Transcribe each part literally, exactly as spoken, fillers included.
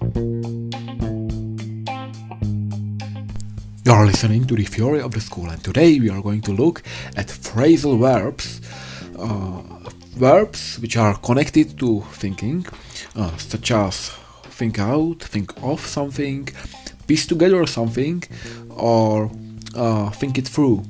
You are listening to the Theory of the School, and today we are going to look at phrasal verbs, uh, verbs which are connected to thinking, uh, such as think out, think of something, piece together something, or uh, think it through.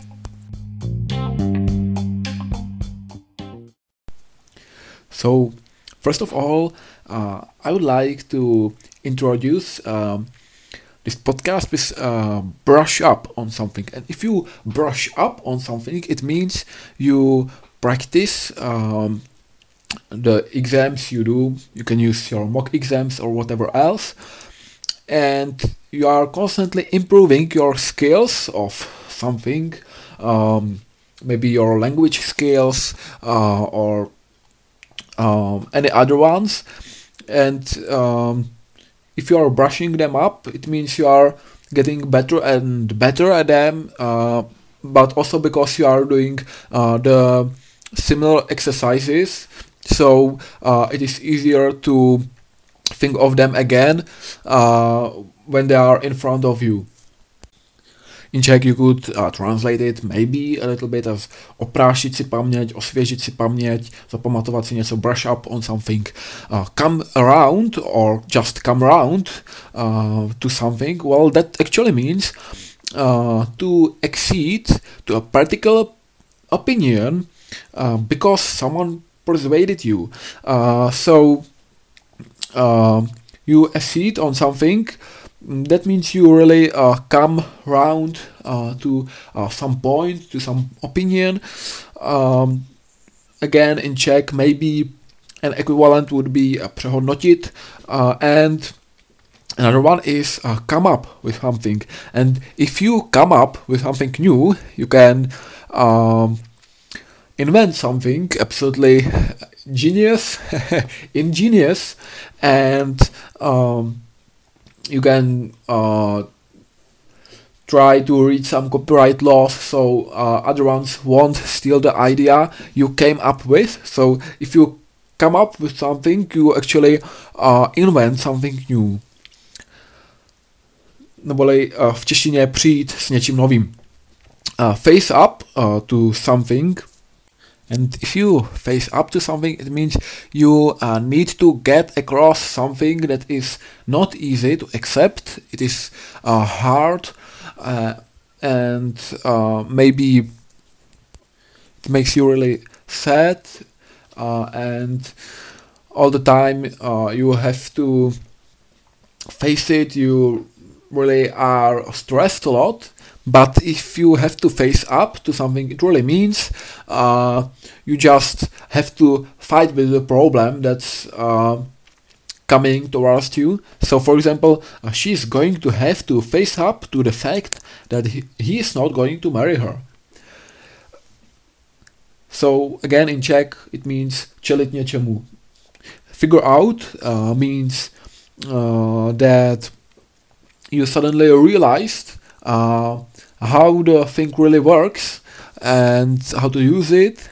So, first of all, uh, I would like to introduce um, this podcast with uh, brush up on something. And if you brush up on something, it means you practice um, the exams you do. You can use your mock exams or whatever else. And you are constantly improving your skills of something, um, maybe your language skills uh, or um, any other ones. And um, if you are brushing them up, it means you are getting better and better at them, uh, but also because you are doing uh, the similar exercises, so uh, it is easier to think of them again uh, when they are in front of you. In Czech you could uh, translate it maybe a little bit as oprášit si paměť, osvěžit si paměť, zapamatovat si něco, brush up on something, uh, come around or just come around uh, to something. Well, that actually means uh, to accede to a particular opinion uh, because someone persuaded you. Uh, so uh, you accede on something. That means you really uh, come round uh, to uh, some point, to some opinion. Um, again, in Czech, maybe an equivalent would be uh, přehodnotit, uh, and another one is uh, come up with something. And if you come up with something new, you can um, invent something absolutely genius, ingenious, and um, you can uh, try to read some copyright laws, so uh, other ones won't steal the idea you came up with. So if you come up with something, you actually uh, invent something new. Neboli uh, v češtině přijít s něčím novým. Uh, face up uh, to something. And if you face up to something, it means you uh, need to get across something that is not easy to accept. It is uh, hard, uh, and uh, maybe it makes you really sad, uh, and all the time uh, you have to face it. You really are stressed a lot. But if you have to face up to something, it really means uh, you just have to fight with the problem that's uh, coming towards you. So, for example, uh, she's going to have to face up to the fact that he, he is not going to marry her. So, again, in Czech, it means čelit něčemu. Figure out uh, means uh, that you suddenly realized uh, how the thing really works and how to use it.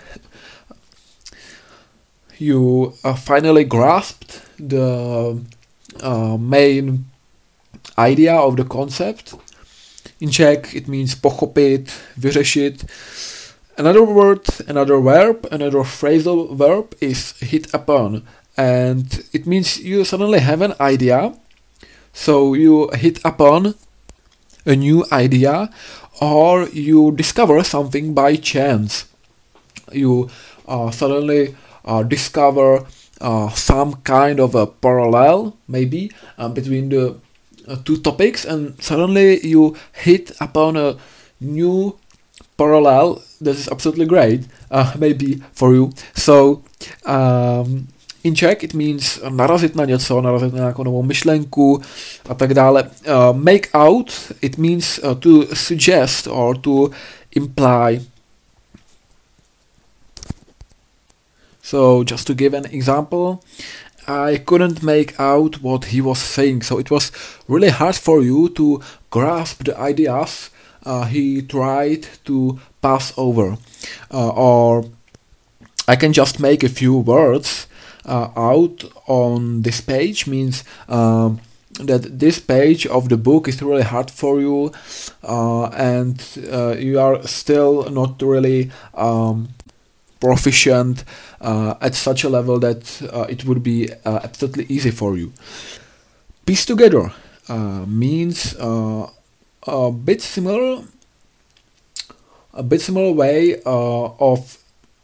You uh, finally grasped the uh, main idea of the concept. In Czech it means pochopit, vyřešit. Another word, another verb, another phrasal verb is hit upon, and it means you suddenly have an idea, so you hit upon a new idea, or you discover something by chance. You uh, suddenly uh, discover uh, some kind of a parallel, maybe, uh, between the uh, two topics, and suddenly you hit upon a new parallel that is absolutely great, uh, maybe for you. So, um, in Czech it means narazit na něco, narazit na nějakou novou myšlenku a tak dále. Uh, make out, it means uh, to suggest or to imply. So just to give an example, I couldn't make out what he was saying, so it was really hard for you to grasp the ideas uh, he tried to pass over. Uh, or I can just make a few words uh, out on this page means um, that this page of the book is really hard for you, uh, and uh, you are still not really um, proficient uh, at such a level that uh, it would be uh, absolutely easy for you. Piece together uh, means uh, a bit similar, a bit similar way uh, of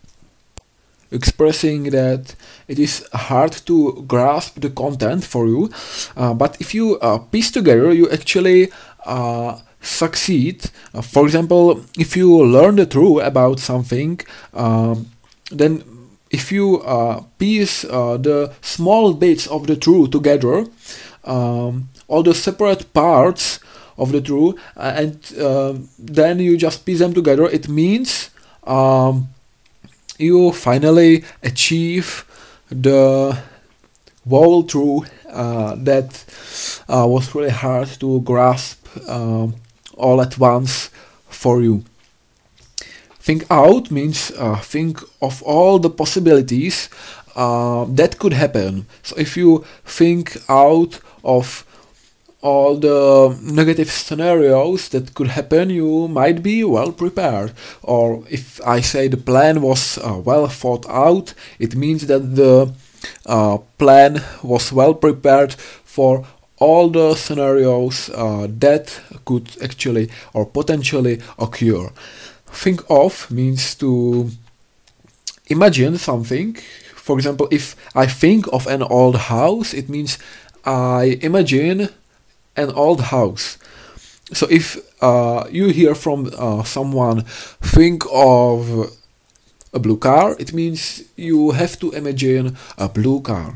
expressing that it is hard to grasp the content for you, uh, but if you uh, piece together, you actually uh, succeed. Uh, for example, if you learn the truth about something, um, then if you uh, piece uh, the small bits of the truth together, um, all the separate parts of the truth, uh, and uh, then you just piece them together, it means um, you finally achieve the whole truth uh, that uh, was really hard to grasp um, all at once for you. Think out means uh, think of all the possibilities uh, that could happen. So if you think out of all the negative scenarios that could happen, you might be well prepared. Or if I say the plan was uh, well thought out, it means that the uh, plan was well prepared for all the scenarios uh, that could actually or potentially occur. Think of means to imagine something. For example, if I think of an old house, it means I imagine an old house. So if uh, you hear from uh, someone, think of a blue car, it means you have to imagine a blue car.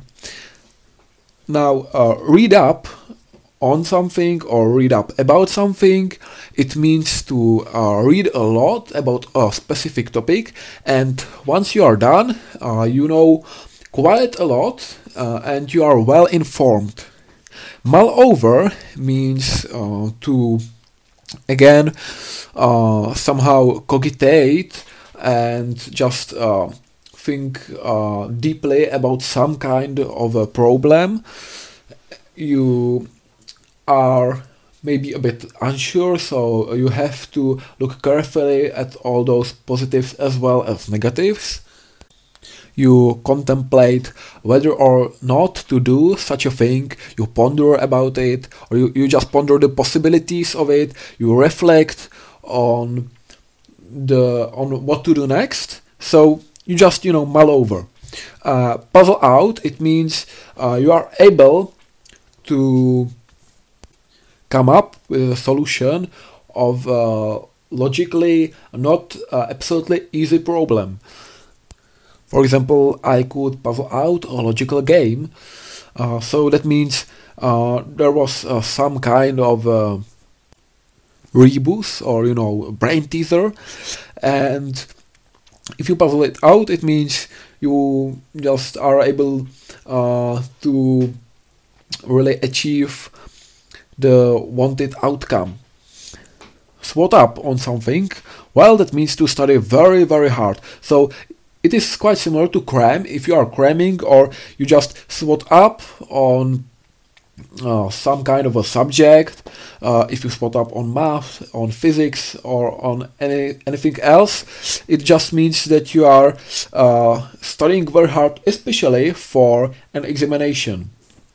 Now uh, read up on something or read up about something, it means to uh, read a lot about a specific topic, and once you are done, uh, you know quite a lot uh, and you are well informed. Mull over means uh, to again uh, somehow cogitate and just uh, think uh, deeply about some kind of a problem. You are maybe a bit unsure, so you have to look carefully at all those positives as well as negatives. You contemplate whether or not to do such a thing, you ponder about it, or you, you just ponder the possibilities of it, you reflect on the on what to do next, so you just, you know, mull over. Uh, puzzle out, it means uh, you are able to come up with a solution of a logically not uh, absolutely easy problem. For example, I could puzzle out a logical game, uh, so that means uh, there was uh, some kind of uh, rebus or, you know, brain teaser, and if you puzzle it out, it means you just are able uh, to really achieve the wanted outcome. Swot up on something, well, that means to study very very hard. So it is quite similar to cram, if you are cramming, or you just swot up on uh, some kind of a subject. Uh, if you swot up on math, on physics, or on any anything else, it just means that you are uh, studying very hard, especially for an examination.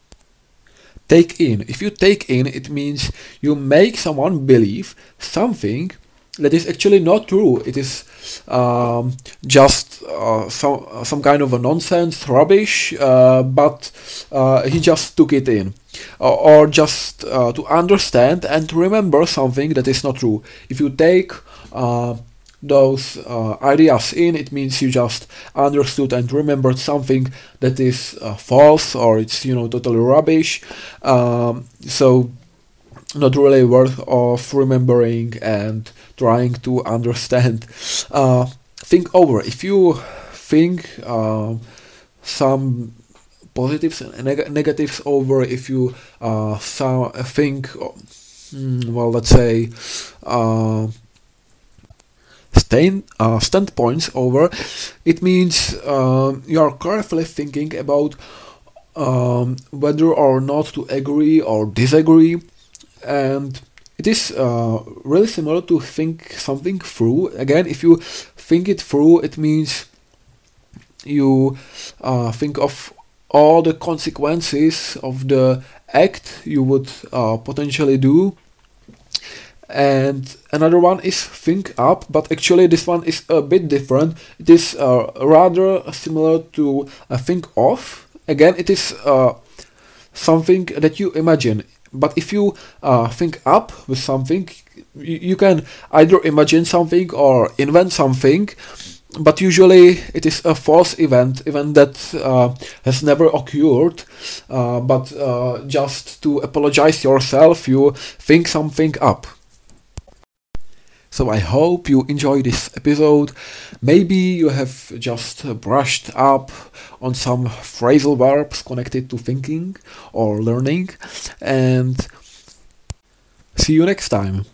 Take in. If you take in, it means you make someone believe something that is actually not true. It is um, just uh, some uh, some kind of a nonsense, rubbish, uh, but uh, he just took it in. Uh, or just uh, to understand and to remember something that is not true. If you take uh, those uh, ideas in, it means you just understood and remembered something that is uh, false, or it's, you know, totally rubbish. Um, so not really worth of remembering and trying to understand. Uh, think over. If you think uh, some positives and neg- negatives over, if you uh, so, think, mm, well, let's say, uh, stand, uh, standpoints over, it means uh, you are carefully thinking about um, whether or not to agree or disagree, and it is uh, really similar to think something through. Again, if you think it through, it means you uh, think of all the consequences of the act you would uh, potentially do. And another one is think up, but actually this one is a bit different. It is uh, rather similar to uh, think of. Again, it is uh, something that you imagine. But if you uh, think up with something, you, you can either imagine something or invent something, but usually it is a false event, event that uh, has never occurred, uh, but uh, just to apologize yourself, you think something up. So I hope you enjoy this episode. Maybe you have just brushed up on some phrasal verbs connected to thinking or learning, and see you next time.